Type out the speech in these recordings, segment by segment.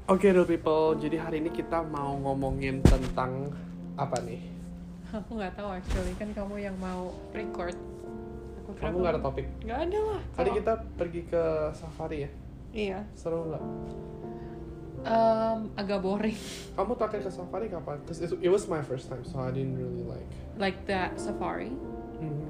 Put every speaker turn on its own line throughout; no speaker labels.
Oke, real people. Jadi hari ini kita mau ngomongin tentang apa nih?
Aku nggak tahu actually, kan kamu yang mau record.
Kamu nggak ada topik?
Nggak ada lah.
Tadi kita pergi ke safari ya?
Iya.
Seru nggak?
Agak boring.
Kamu terakhir ke safari kapan? Cause it was my first time, so I didn't really like.
Like that safari.
Mhm.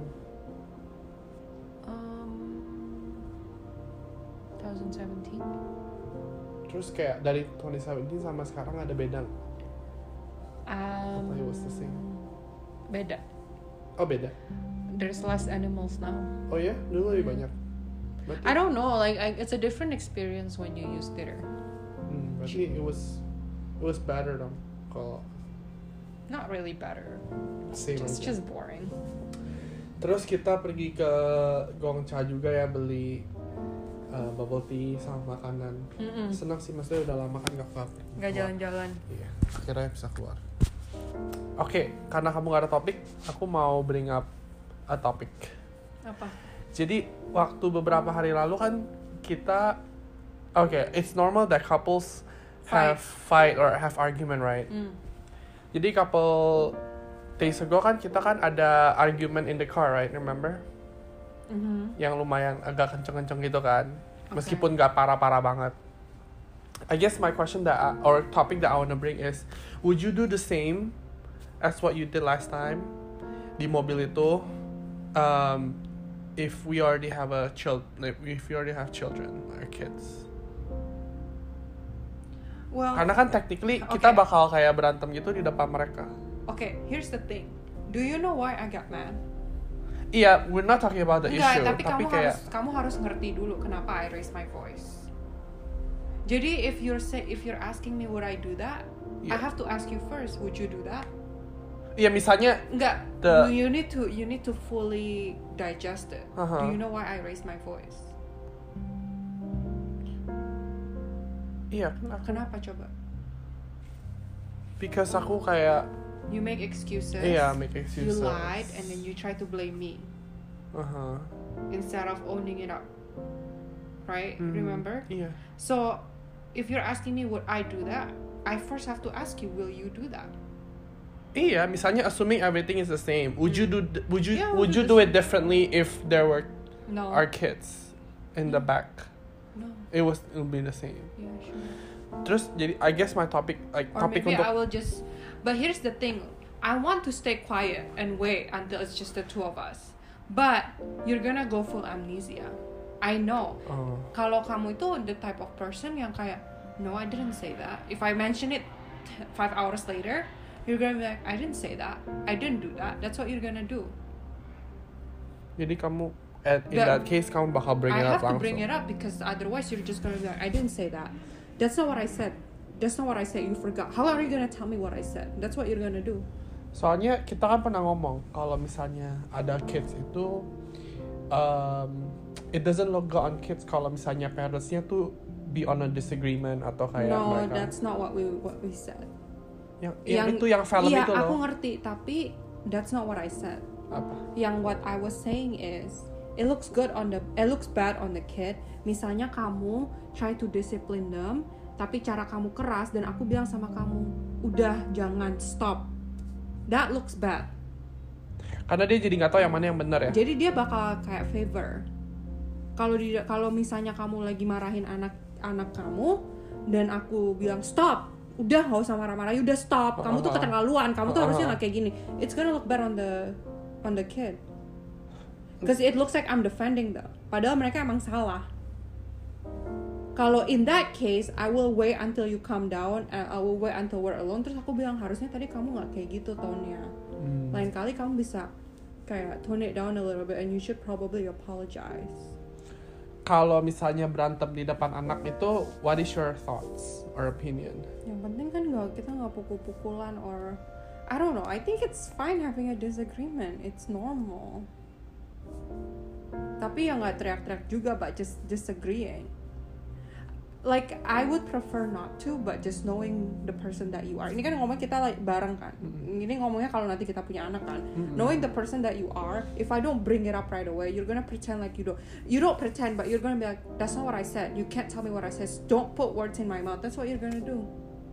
2017.
Terus kayak dari 2017 sama sekarang ada beda nggak? Atau it was the same?
Beda.
Oh beda?
There's less animals now.
Oh ya? Dulu lebih banyak? Berarti,
I don't know, like it's a different experience when you use theater.
berarti it was better dong kalau
Not really better.
same
It's
aja.
just boring.
Terus kita pergi ke Gongcha juga ya, beli bubble tea sama makanan. Senang sih, maksudnya udah lama kan gak keluar.
Nggak jalan-jalan.
Iya, akhirnya bisa keluar. Oke, karena kamu gak ada topik, aku mau bring up a topic.
Apa?
Jadi waktu beberapa hari lalu kan kita, it's normal that couples have fight or have argument, right? Jadi couple days ago kan kita kan ada argument in the car, right? Remember? Yang lumayan agak kenceng-kenceng gitu kan, meskipun gak parah-parah banget. I guess my question or topic that I wanna bring is, would you do the same as what you did last time di mobil itu, if we already have children or kids?
Well,
Karena kan technically kita bakal kayak berantem gitu di depan mereka.
Okay, here's the thing. Do you know why I got mad?
Iya, we're not talking about the issue,
Tapi
kayak
kamu harus ngerti dulu kenapa I raise my voice. Jadi if you're asking me would I do that, I have to ask you first, would you do that?
Iya, misalnya
Enggak. You need to fully digest it. Do you know why I raise my voice?
Iya,
Kenapa coba?
because aku kayak
You make excuses.
make excuses.
You lied and then you try to blame me instead of owning it up. Right? Remember?
Iya.
So, if you're asking me would I do that, I first have to ask you, will you do that?
Iya, misalnya assuming everything is the same, would you
Yeah,
do it differently if there were
No.
our kids in the back?
No.
It would be the same.
Yeah, sure.
Terus jadi I guess my topic
Or
topik
maybe
untuk
I will just. But here's the thing. I want to stay quiet and wait until it's just the two of us. But you're gonna go full amnesia. I know. Kalau kamu itu the type of person yang kayak, no, I didn't say that. If I mention it 5 hours later, you're gonna be like, I didn't say that. I didn't do that. That's what you're gonna do.
Jadi kamu in that case kamu bakal bring it
I
up
have to
langsung.
bring it up because otherwise you're just gonna be like, I didn't say that. That's not what I said. That's not what I said. You forgot. How are you gonna tell me what I said? That's what you're gonna do.
Soalnya kita kan pernah ngomong kalau misalnya ada kids itu, it doesn't look good on kids kalau misalnya parentsnya tuh be on a disagreement atau kayak
No,
mereka.
that's not what we said.
Yang itu yang film
iya,
itu loh.
aku ngerti, tapi that's not what I said.
Apa?
Yang what I was saying is, it looks bad on the kid. Misalnya kamu try to discipline them, tapi cara kamu keras dan aku bilang sama kamu, udah jangan stop. That looks bad.
Karena dia jadi nggak tahu yang mana yang benar ya.
Jadi dia bakal kayak favor. Kalau misalnya kamu lagi marahin anak kamu dan aku bilang stop, udah nggak usah marah-marah, udah stop. Kamu tuh keterlaluan, kamu tuh harusnya nggak kayak gini. It's gonna look bad on the kid. Because it looks like I'm defending them. Padahal mereka emang salah. Kalau in that case, I will wait until you calm down, and I will wait until we're alone. Terus aku bilang, harusnya tadi kamu nggak kayak gitu tone-nya. Lain kali kamu bisa kayak tone it down a little bit, and you should probably apologize.
Kalau misalnya berantem di depan anak itu, what is your thoughts or opinion?
Yang penting kan kita nggak pukul-pukulan or I don't know. I think it's fine having a disagreement. It's normal. Tapi ya nggak teriak-teriak juga, but just disagreeing. like I would prefer not to, but just knowing the person that you are. Ini kan ngomong kita like bareng kan. Ini ngomongnya kalau nanti kita punya anak kan. Knowing the person that you are, if I don't bring it up right away, you're gonna pretend like you don't pretend, but you're gonna be like, that's not what I said. You can't tell me what I said. Don't put words in my mouth. That's what you're gonna do.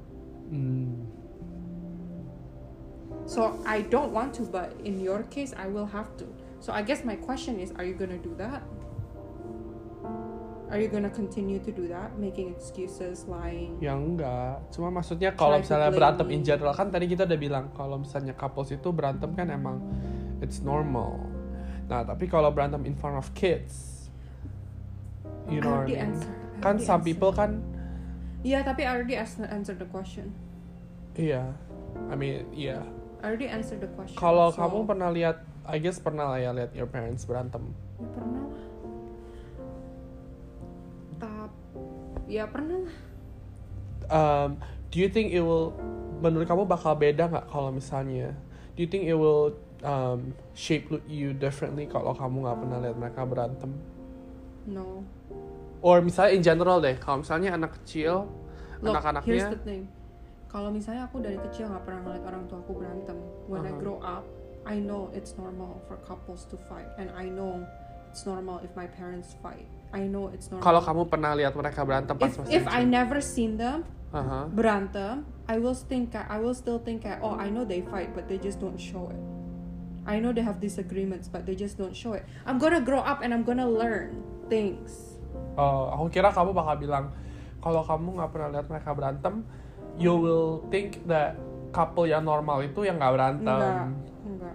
So I don't want to, but in your case, I will have to. So I guess my question is, are you gonna do that? Are you gonna continue to do that, making excuses, lying?
Ya enggak, cuma maksudnya kalau misalnya berantem in general, kan tadi kita udah bilang kalau misalnya couples itu berantem kan emang it's normal. Nah tapi kalau berantem in front of kids, you know what I mean? Kan some people kan.
Iya, tapi I already answered the question.
Iya, I mean iya.
I already answered the question.
Kalau kamu pernah lihat, I guess pernah lah ya lihat your parents berantem.
Ya, pernah lah. Ya pernah lah.
Do you think it will, menurut kamu bakal beda nggak kalau misalnya? Do you think it will shape you differently kalau kamu nggak pernah lihat mereka berantem?
No.
Or misalnya in general deh, kalau misalnya anak kecil, anak-anaknya.
Here's the thing. Kalau misalnya aku dari kecil nggak pernah ngeliat orang tua aku berantem, when I grow up, I know it's normal for couples to fight, and I know it's normal if my parents fight. I know it's normal.
Kalau kamu pernah lihat mereka berantem pas masih
if I never seen them berantem, I will still think, oh, I know they fight, but they just don't show it. I know they have disagreements, but they just don't show it. I'm gonna grow up and I'm gonna learn things.
Oh, aku kira kamu bakal bilang kalau kamu nggak pernah lihat mereka berantem, you will think that couple yang normal itu yang nggak berantem.
Enggak.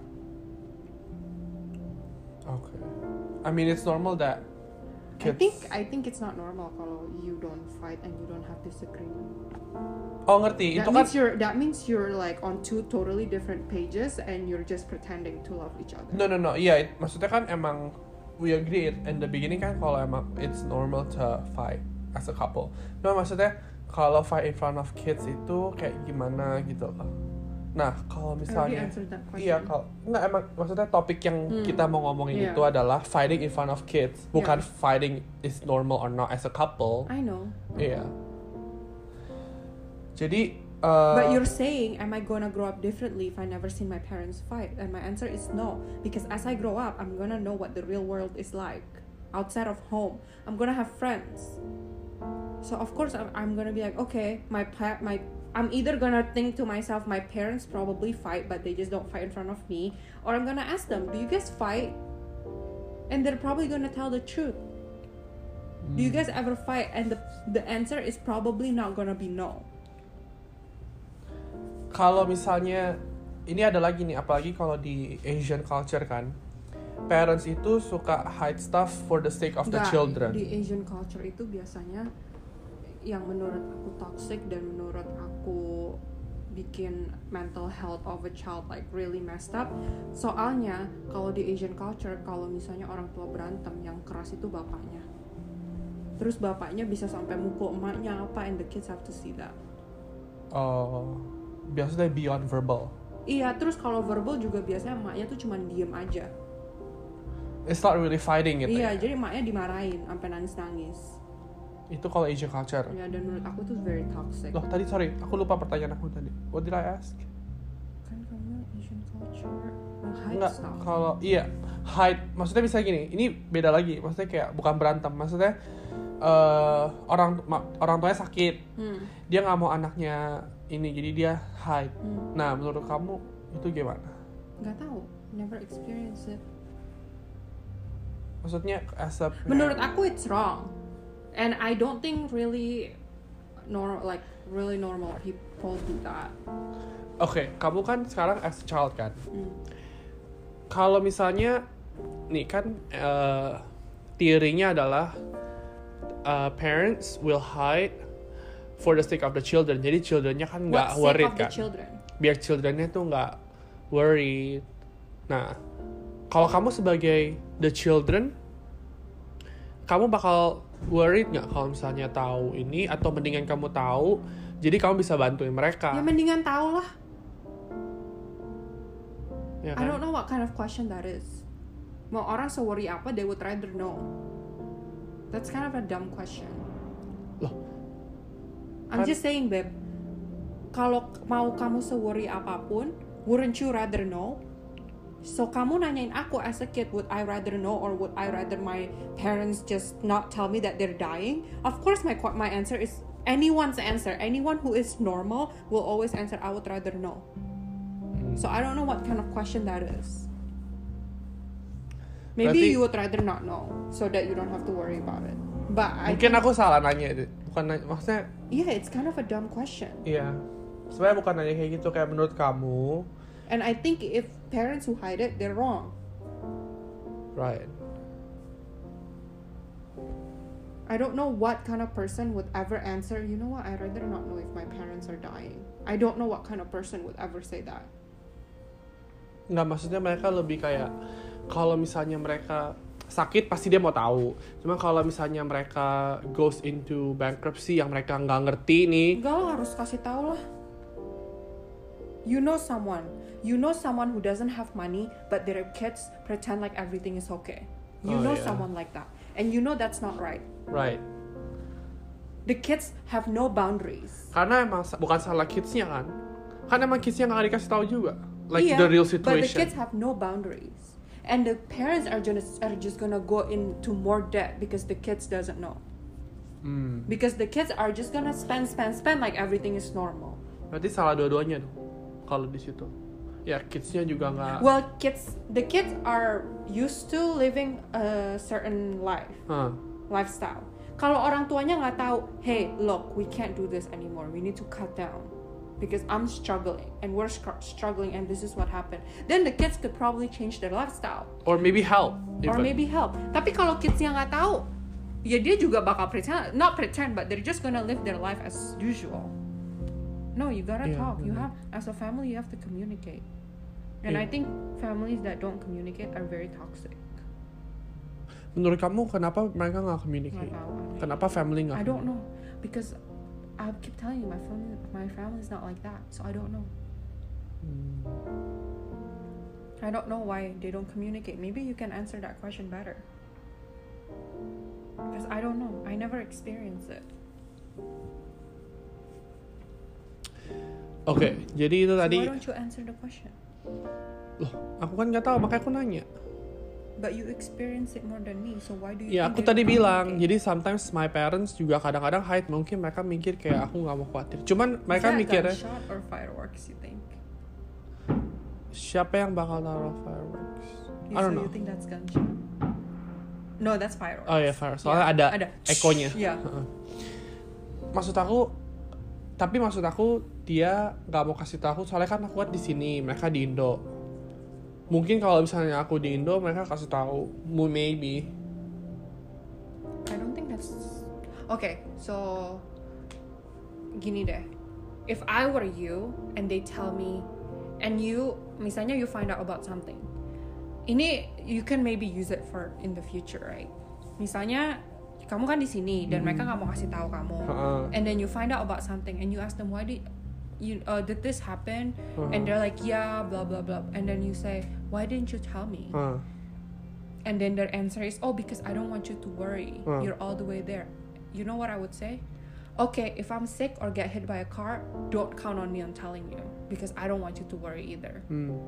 Okay. I mean it's normal that kids...
I think it's not normal kalau you don't fight and you don't have disagreement.
Oh ngerti, itu kan
that means you're like on two totally different pages and you're just pretending to love each other.
No, iya, maksudnya kan emang we agree in the beginning kan kalau emang it's normal to fight as a couple. No, maksudnya kalau fight in front of kids itu kayak gimana gitu loh. Nah, kalau misalnya iya, kalau enggak emang maksudnya topik yang kita mau ngomongin itu adalah fighting in front of kids, bukan fighting is normal or not as a couple.
I know.
Iya. Jadi
but you're saying, am I gonna grow up differently if I never seen my parents fight? And my answer is no, because as I grow up, I'm gonna know what the real world is like outside of home. I'm gonna have friends, so of course I'm gonna be like, okay, I'm either gonna think to myself, my parents probably fight, but they just don't fight in front of me, or I'm gonna ask them, do you guys fight? And they're probably gonna tell the truth. Do you guys ever fight? And the answer is probably not gonna be no.
Kalau misalnya ini ada lagi nih, apalagi kalau di Asian culture kan, parents itu suka hide stuff for the sake of the children.
Di Asian culture itu biasanya yang menurut aku toxic dan menurut aku bikin mental health of a child like really messed up. Soalnya kalau di Asian culture, kalau misalnya orang tua berantem, yang keras itu bapaknya. Terus bapaknya bisa sampai mukul emaknya apa, and the kids have to see that.
Oh, biasanya beyond verbal.
Iya, terus kalau verbal juga biasanya emaknya tuh cuman diem aja.
It's not really fighting gitu.
Iya, jadi emaknya dimarahin sampai nangis-nangis.
Itu kalau Asian culture.
Ya, dan menurut aku tuh very toxic.
Loh, tadi sorry, aku lupa pertanyaan aku tadi. What did I ask?
Kan kamu Asian culture hide
Enggak,
stuff.
kalau iya, hide, maksudnya bisa gini, ini beda lagi. Maksudnya kayak bukan berantem, maksudnya orang tuanya sakit. Dia nggak mau anaknya ini, jadi dia hide. Nah, menurut kamu itu gimana?
Nggak tahu, never experience it.
Maksudnya as a parent,
menurut aku it's wrong, and I don't think really normal people do that.
Oke, kamu kan sekarang as a child kan. Kalau misalnya nih kan teorinya adalah parents will hide for the sake of the children. Jadi childrennya kan nggak worried kan. Biar childrennya tuh nggak worried. Nah, kalau kamu sebagai the children, kamu bakal worried nggak kalau misalnya tahu ini, atau mendingan kamu tahu, jadi kamu bisa bantuin mereka?
Ya mendingan tahu lah.
Ya kan?
I don't know what kind of question that is. Mau orang se-worry apa, they would rather know. That's kind of a dumb question.
Loh,
I'm just saying, babe. Kalau mau kamu se-worry apapun, wouldn't you rather know? So kamu nanyain aku as a kid, would I rather know or would I rather my parents just not tell me that they're dying? Of course, my answer is anyone's answer. Anyone who is normal will always answer, I would rather know. So I don't know what kind of question that is. Maybe
Berarti,
you would rather not know, so that you don't have to worry about it. But
mungkin aku salah nanya, maksudnya.
Yeah, it's kind of a dumb question.
Iya, sebenarnya bukan nanya kayak gitu, kayak menurut kamu.
And I think if parents who hide it, they're wrong.
Right.
I don't know what kind of person would ever answer, you know what, I'd rather not know if my parents are dying. I don't know what kind of person would ever say that.
Nggak, maksudnya mereka lebih kayak, kalau misalnya mereka sakit pasti dia mau tahu. Cuma kalau misalnya mereka goes into bankruptcy yang mereka nggak ngerti nih.
Enggak lah, harus kasih tahu lah. You know someone who doesn't have money, but their kids pretend like everything is okay. You know someone like that. And you know that's not right.
Right.
The kids have no boundaries.
Karena emang bukan salah kidsnya kan. Kan emang kidsnya nggak dikasih tahu juga. Like
yeah,
the real situation.
But the kids have no boundaries. And the parents are just gonna go into more debt because the kids doesn't know. Because the kids are just gonna spend like everything is normal.
Berarti salah dua-duanya dong. Kalau di situ. Ya kidsnya juga nggak.
Well, the kids are used to living a certain lifestyle. Kalau orang tuanya nggak tahu, hey, look, we can't do this anymore. We need to cut down because I'm struggling and we're struggling and this is what happened. Then the kids could probably change their lifestyle.
Or maybe help.
Tapi kalau kidsnya nggak tahu, ya dia juga bakal not pretend, but they're just gonna live their life as usual. No, you gotta talk. You have, as a family, you have to communicate. And I think families that don't communicate are very toxic.
Menurut kamu kenapa mereka nggak communicate? Kenapa family nggak?
I don't know, because I keep telling you my family is not like that, so I don't know. I don't know why they don't communicate. Maybe you can answer that question better. Because I don't know. I never experienced it.
Oke, jadi itu tadi.
Why don't you answer the question?
Loh, aku kan nggak tahu, makanya aku nanya.
But you experience it more than me, so why do you?
Ya, aku tadi bilang, jadi sometimes my parents juga kadang-kadang hide, mungkin mereka mikir kayak aku nggak mau khawatir. Cuman mereka mikirnya.
Gunshot or fireworks, you think?
Siapa yang bakal taruh fireworks? I don't know.
You think that's gunshot? No, that's fireworks.
Oh ya, fireworks. Soalnya ada ekonya.
Yeah.
Maksud aku dia nggak mau kasih tahu soalnya kan aku di sini, mereka di Indo. Mungkin kalau misalnya aku di Indo, mereka kasih tahu, maybe.
I don't think that's okay. So gini deh, if I were you and they tell me, and you misalnya you find out about something, ini you can maybe use it for in the future, right? Misalnya kamu kan di sini dan mereka nggak mau kasih tahu kamu, and then you find out about something and you ask them, why did this happen? And they're like, yeah, blah blah blah, and then you say, why didn't you tell me? And then their answer is, oh, because I don't want you to worry. You're all the way there. You know what I would say? Okay, if I'm sick or get hit by a car, don't count on me on telling you because I don't want you to worry either.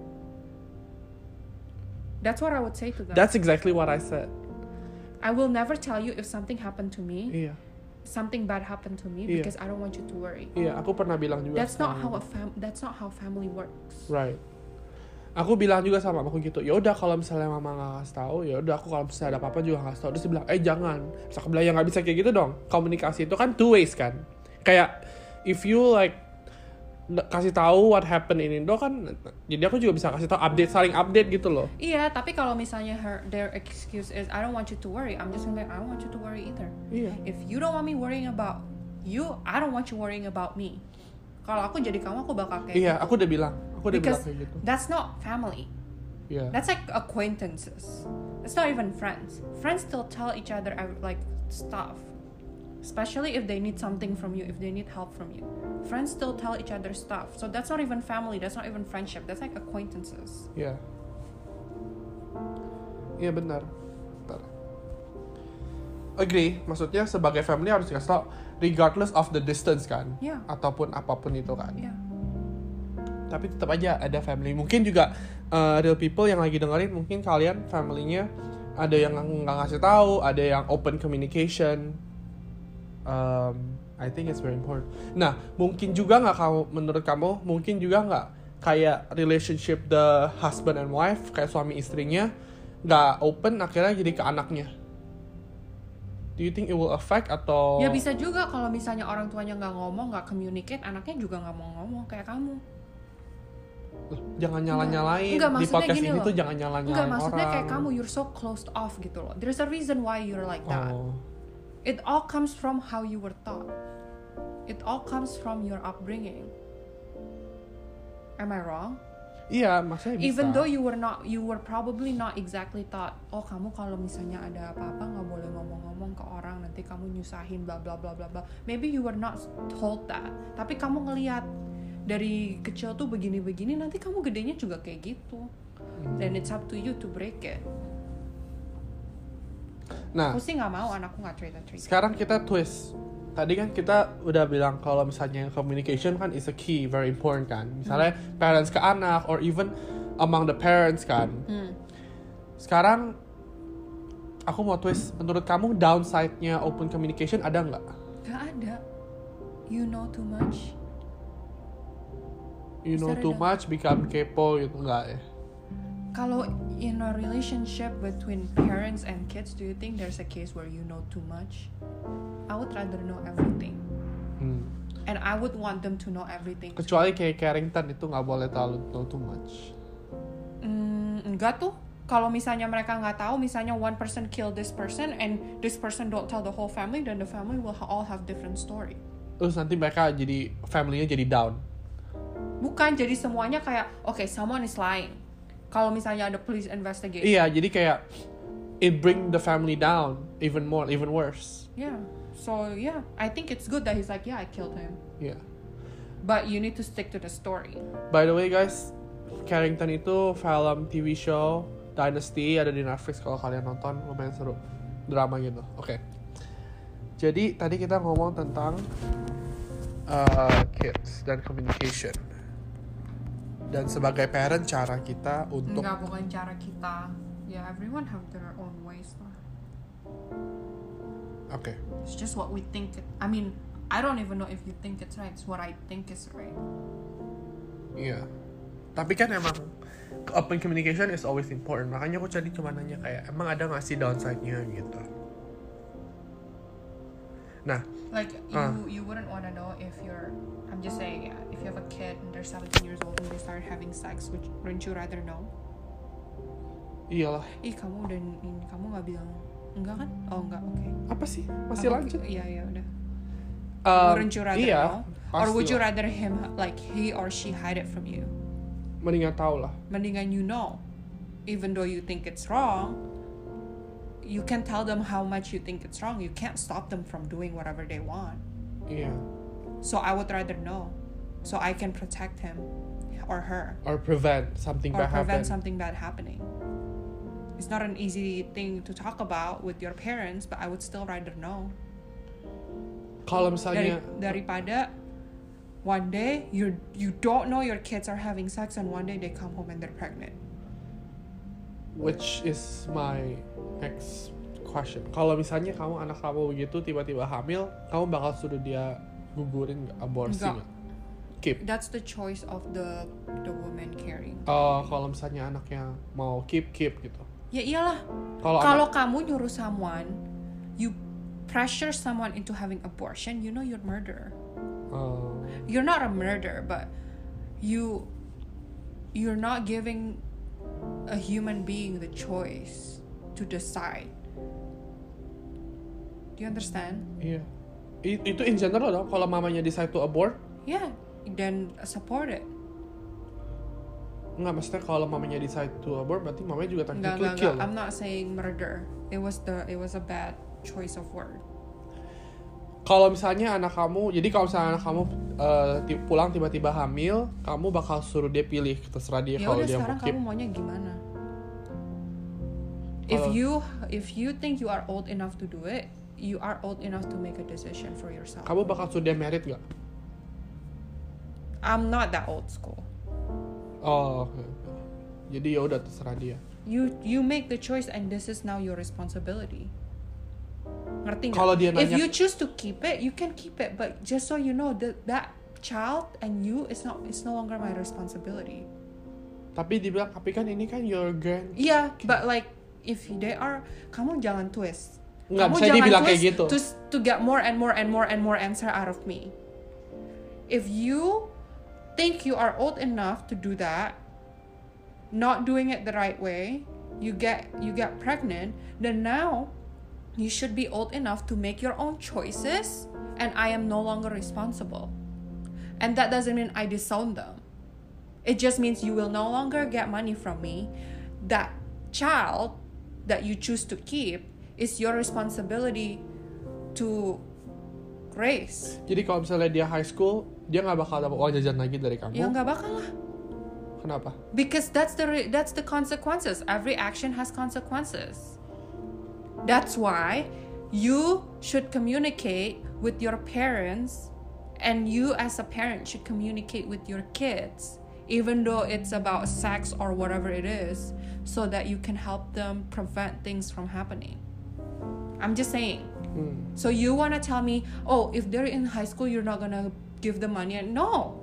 That's what I would say to them.
That's exactly what I said.
I will never tell you if something happened to me.
Iya.
Something bad happened to me because I don't want you to worry.
Iya, aku pernah bilang juga.
That's not how family works.
Right. Aku bilang juga sama mamaku gitu. Ya udah kalau misalnya mama nggak kasih tahu, ya udah aku kalau misalnya ada apa-apa juga nggak kasih tahu. Terus dia bilang, jangan. Terus aku bilang ya nggak bisa kayak gitu dong. Komunikasi itu kan two ways kan. Kayak if you like kasih tahu what happened in Indo kan, jadi aku juga bisa kasih tahu saling update gitu loh.
Iya, tapi kalau misalnya their excuse is I don't want you to worry, I'm just gonna I don't want you to worry either.
Iya.
If you don't want me worrying about you, I don't want you worrying about me. Kalau aku jadi kamu, aku bakal kayak
iya,
gitu.
aku udah bilang
Because
kayak gitu.
That's not family.
Yeah.
That's like acquaintances. It's not even friends. Friends still tell each other like stuff. Especially if they need something from you, if they need help from you. Friends still tell each other stuff. So that's not even family, that's not even friendship. That's like acquaintances.
Iya. Iya benar. agree. Maksudnya sebagai family harus dikasih tau regardless of the distance kan,
Yeah.
ataupun apapun itu kan.
Yeah.
Tapi tetap aja ada family. Mungkin juga real people yang lagi dengerin, mungkin kalian family-nya ada yang nggak ngasih tahu, ada yang open communication. I think it's very important. Nah, mungkin juga nggak menurut kamu, mungkin juga nggak kayak relationship the husband and wife, kayak suami istrinya nggak open, akhirnya jadi ke anaknya. Do you think it will affect atau?
Ya bisa juga kalau misalnya orang tuanya nggak ngomong, nggak communicate, anaknya juga nggak mau ngomong kayak kamu.
Jangan nyala-nyalain
Enggak,
di podcast
gini
ini
loh.
tuh jangan nyala-nyalain
Enggak,
orang.
maksudnya kayak kamu, you're so closed off gitu loh. There's a reason why you're like that.
Oh.
It all comes from how you were taught. It all comes from your upbringing. Am I wrong?
Iya, maksudnya bisa.
Even though you were probably not exactly taught, oh kamu kalau misalnya ada apa-apa nggak boleh ngomong-ngomong ke orang, nanti kamu nyusahin bla bla bla bla bla. Maybe you were not told that, tapi kamu ngelihat dari kecil tuh begini-begini, nanti kamu gedenya juga kayak gitu. Then it's up to you to break it.
Nah,
Aku sih nggak mau anakku nggak cerita-cerita.
sekarang kita twist. Tadi kan kita udah bilang kalau misalnya communication kan is a key, very important kan. Misalnya parents ke anak or even among the parents kan. Sekarang aku mau twist. Menurut kamu downside-nya open communication ada nggak?
Gak ada. You know too much.
You know
Bisa
too
ada.
much, become kepo gitu nggak ya?
Kalau in a relationship between parents and kids, do you think there's a case where you know too much? I would rather know everything, and I would want them to know everything.
Kecuali kayak Carrington itu nggak boleh terlalu know too much.
Enggak tuh. Kalau misalnya mereka nggak tahu, misalnya one person kill this person and this person don't tell the whole family, then the family will all have different story.
Terus nanti mereka jadi family-nya jadi down.
Bukan, jadi semuanya kayak okay, someone is lying. Kalau misalnya ada police investigation.
Iya, jadi kayak it bring the family down even more, even worse.
Yeah. So yeah, I think it's good that he's like, yeah, I killed him.
Yeah.
But you need to stick to the story.
By the way guys, Carrington itu film TV show Dynasty, ada di Netflix kalau kalian nonton, lumayan seru, drama gitu. Oke. Jadi tadi kita ngomong tentang kids dan communication. Dan sebagai parent cara kita untuk
Enggak, bukan cara kita. Yeah, everyone have their own ways lah.
Oke.
It's just what we think. I mean, I don't even know if you think it's right. It's what I think is right.
Iya. Tapi kan emang open communication is always important. Makanya aku tadi cuma nanya kayak emang ada nggak sih downside-nya gitu. Nah,
Like you wouldn't want to know if you're. I'm just saying, if you have a kid and they're 17 years old and they start having sex, wouldn't you rather know?
iyalah.
Kamu kamu nggak bilang enggak kan? Oh enggak, oke.
Apa sih? Masih lanjut?
Iya udah.
Um,
Wouldn't you rather
iya,
know? Or would you
pastilah.
rather him, like he or she hide it from you?
Mendingan tahu lah.
Mendingan you know. Even though you think it's wrong, you can tell them how much you think it's wrong. You can't stop them from doing whatever they want.
Iya.
So I would rather know, so I can protect him or her,
Or prevent something
or
bad
prevent
happen.
something bad happening. It's not an easy thing to talk about with your parents, but I would still rather know.
Kalau misalnya
Daripada one day you don't know your kids are having sex and one day they come home and they're pregnant.
which is my next question. Kalau misalnya kamu anak kamu begitu tiba-tiba hamil, kamu bakal suruh dia gugurin nggak, aborsi
Enggak.
nggak? Keep.
That's the choice of the woman carrying.
Kalau misalnya anaknya mau keep gitu.
Ya iyalah.
Kalau
Kalau kamu nyuruh someone, you pressure someone into having abortion, you know you're murderer. You're not a murderer, but you're not giving a human being the choice to decide. Do you understand?
iya. Itu in general dong. Kalau mamanya decide to abort,
Yeah, then support it.
nggak, maksudnya kalau mamanya decide to abort berarti mamanya juga technically
Enggak.
kill.
I'm not saying murder. It was a bad choice of word.
Kalau misalnya anak kamu, jadi kalau misalnya anak kamu pulang tiba-tiba hamil, kamu bakal suruh dia pilih, terserah dia
Ya
kalau
udah,
dia
sekarang
mau keep.
kamu maunya gimana?
Kalau-
If you think you are old enough to do it, you are old enough to make a decision for yourself.
Kamu bakal sudah married gak?
I'm not that old school.
Oh, okay. Jadi ya udah terserah dia.
You make the choice and this is now your responsibility. Ngerti nggak?
Kalau dia nanya,
if you choose to keep it, you can keep it, but just so you know that child and you is no longer my responsibility.
Tapi dibilang, tapi kan ini kan your grand.
Yeah, but like if they are, kamu jangan twist.
Nggak
Kamu
bisa dibilang kayak gitu.
To get more and more and more and more answer out of me. If you think you are old enough to do that, not doing it the right way, you get pregnant, then now you should be old enough to make your own choices, and I am no longer responsible. And that doesn't mean I disown them. It just means you will no longer get money from me. That child that you choose to keep is your responsibility to raise.
Jadi kalau misalnya dia high school, dia nggak bakal dapat uang jajan lagi dari kamu.
Ya nggak bakal lah.
Kenapa?
Because that's the consequences. Every action has consequences. That's why you should communicate with your parents, and you as a parent should communicate with your kids, even though it's about sex or whatever it is, so that you can help them prevent things from happening. I'm just saying. So you want to tell me, oh, if they're in high school, you're not going to give them money? No.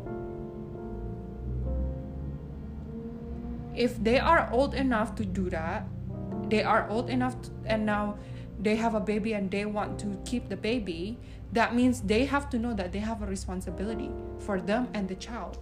If they are old enough to do that, they are old enough and now they have a baby and they want to keep the baby, that means they have to know that they have a responsibility for them and the child.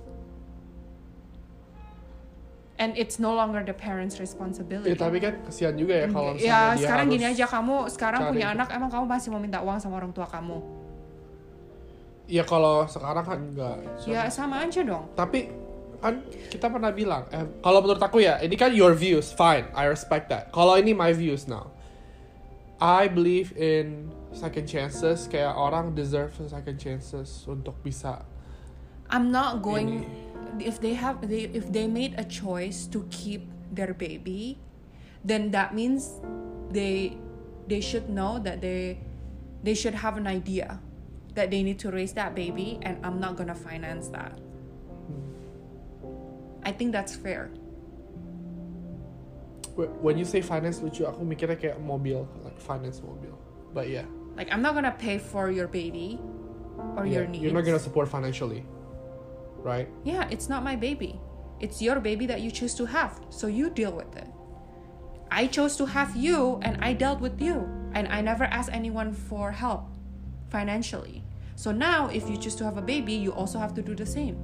And it's no longer the parents' responsibility.
Ya, tapi kan kesian juga ya kalau misalnya
ya,
dia
sekarang
harus
gini aja, kamu sekarang
cari.
punya anak, emang kamu masih mau minta uang sama orang tua kamu?
Ya kalau sekarang kan enggak.
Ya sama aja dong.
Tapi kan kita pernah bilang, kalau menurut aku ya, ini kan your views, fine, I respect that. Kalau ini my views now, I believe in second chances. Kayak orang deserve second chances untuk bisa.
I'm not going. If they made a choice to keep their baby, then that means they should know that they should have an idea that they need to raise that baby, and I'm not gonna finance that. I think that's fair.
When you say finance, lucu, aku mikirnya kayak mobil, like finance mobil. But yeah.
Like I'm not gonna pay for your baby or your needs.
You're not gonna support financially, right?
Yeah, it's not my baby. It's your baby that you choose to have, so you deal with it. I chose to have you, and I dealt with you, and I never asked anyone for help financially. So now, if you choose to have a baby, you also have to do the same.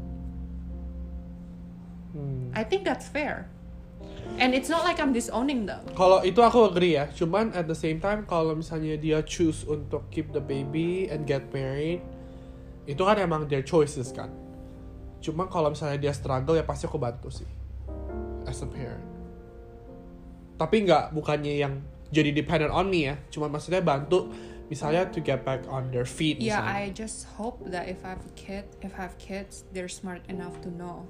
I think that's fair. And it's not like I'm disowning them.
Kalau itu aku agree ya. Cuman at the same time, kalau misalnya dia choose untuk keep the baby and get married, itu kan emang their choices kan. Cuma kalau misalnya dia struggle, ya pasti aku bantu sih as a parent. Tapi bukannya yang jadi dependent on me ya. Cuma maksudnya bantu misalnya to get back on their feet.
Yeah,
misalnya.
I just hope that if I have kids, they're smart enough to know.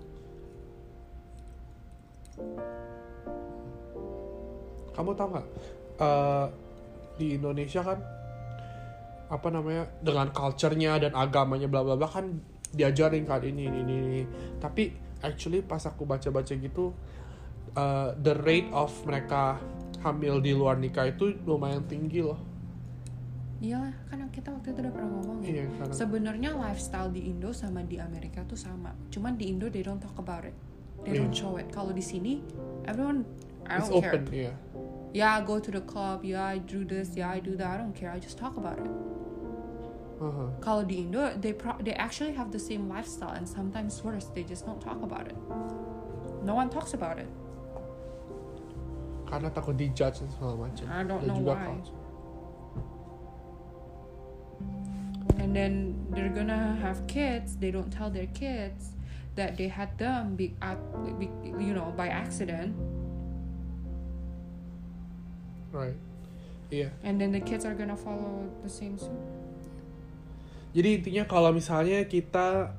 Kamu tahu nggak? Di Indonesia kan apa namanya, dengan culture-nya dan agamanya bla bla bla kan diajarin kan ini. Tapi actually pas aku baca-baca gitu, the rate of mereka hamil di luar nikah itu lumayan tinggi loh.
Iya, kan kita waktu itu udah pernah ngomong ya.
Iya,
sebenarnya lifestyle di Indo sama di Amerika tuh sama. Cuman di Indo they don't talk about it. They don't show it. Kalau di sini everyone, I don't care.
It's open, yeah.
Yeah, I go to the club. Yeah, I do this. Yeah, I do that. I don't care. I just talk about it. Kalau di Indo, they actually have the same lifestyle and sometimes worse. They just don't talk about it. No one talks about it.
Karena takut dijudge dan segala macam.
I don't
dan
know
juga
why.
culture.
And then they're gonna have kids. They don't tell their kids that they had them by accident.
Right. Iya.
And then the kids are gonna follow the same suit.
Jadi intinya kalau misalnya kita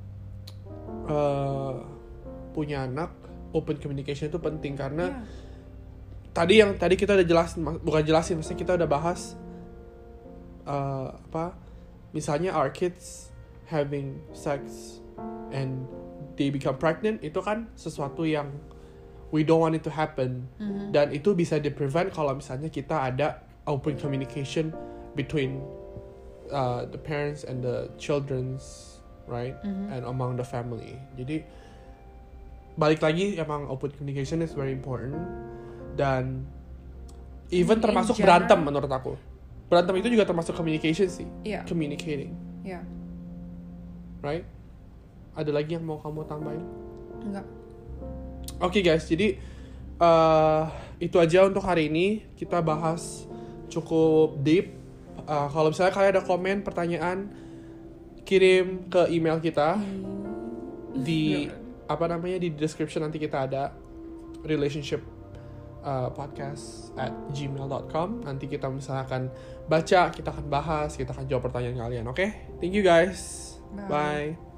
punya anak, open communication itu penting karena tadi kita udah jelasin, maksudnya kita udah bahas misalnya our kids having sex and they become pregnant, itu kan sesuatu yang we don't want it to happen. Dan itu bisa di-prevent kalau misalnya kita ada open communication between the parents and the children's, right? And among the family. Jadi balik lagi, emang open communication is very important. Dan even termasuk berantem menurut aku. Berantem itu juga termasuk communication sih. Communicating. Right? Ada lagi yang mau kamu tambahin?
Enggak.
Oke guys, jadi itu aja untuk hari ini. Kita bahas cukup deep. Kalau misalnya kalian ada komen, pertanyaan, kirim ke email kita di di description. Nanti kita ada relationship podcast@gmail.com. Nanti kita misalnya akan baca, kita akan bahas, kita akan jawab pertanyaan kalian. Oke? Thank you guys. Bye.